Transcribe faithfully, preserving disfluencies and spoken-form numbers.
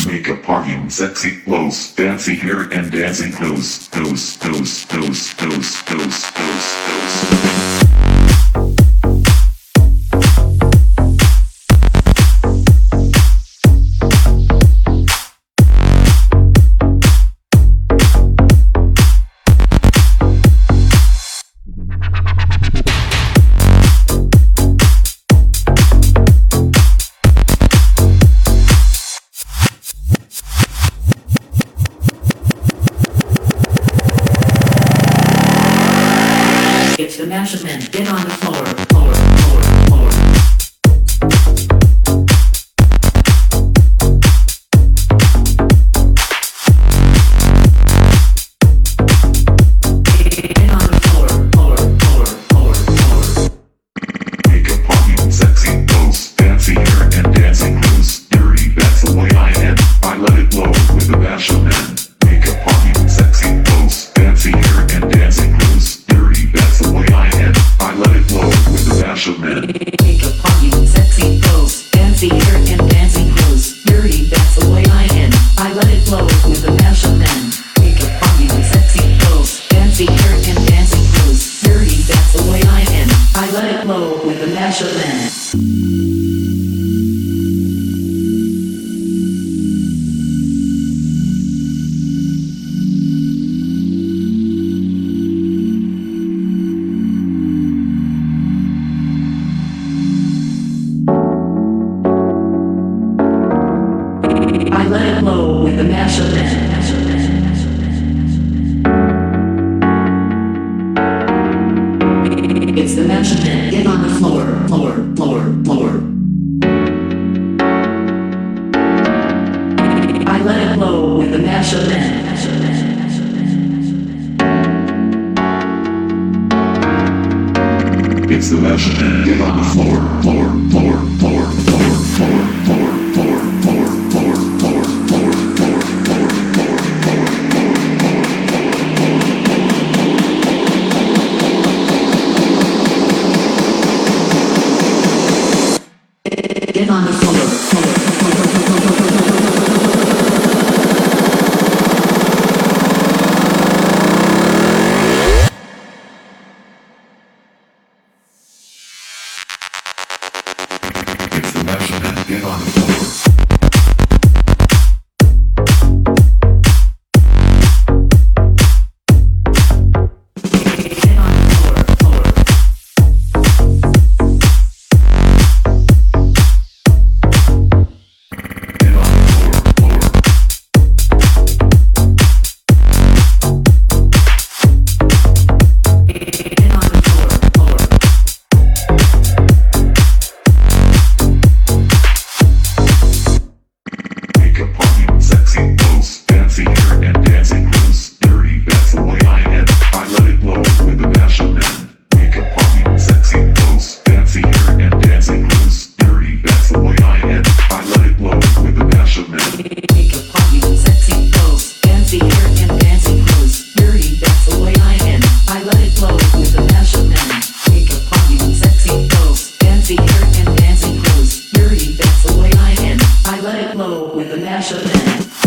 Makeup, partying, sexy clothes, fancy hair and dancing toes, toes, toes, toes, toes, toes, toes, toes. It's the measurement. Get on the floor, floor, floor, floor. Get on the floor, floor, floor, floor, floor. Makeup, partying, sexy clothes, fancy hair and dancing toes. Dirty, that's the way I am. I let it blow with a bashful man. Makeup, partying, sexy clothes, fancy hair and dancing toes. Dirty, that's the way I am. I let it blow with a bashful man. Makeup, partying, sexy clothes, fancy hair and dancing clothes. Dirty, that's the way I am. I let it flow with a measurement. Makeup, partying, sexy clothes, fancy hair and dancing clothes. Dirty, that's the way I am. I let it flow with a measurement. I let it flow with the measurement. It's the measurement. Get on the floor, floor, floor, floor. I let it flow with the measurement. It's the measurement. Get on the floor, floor, floor, floor, floor, floor, floor, floor, floor, floor, floor, floor, floor, floor, floor, Get on the floor, floor, floor, floor, floor, floor. It's the measurement. Get on the floor. With the measurement.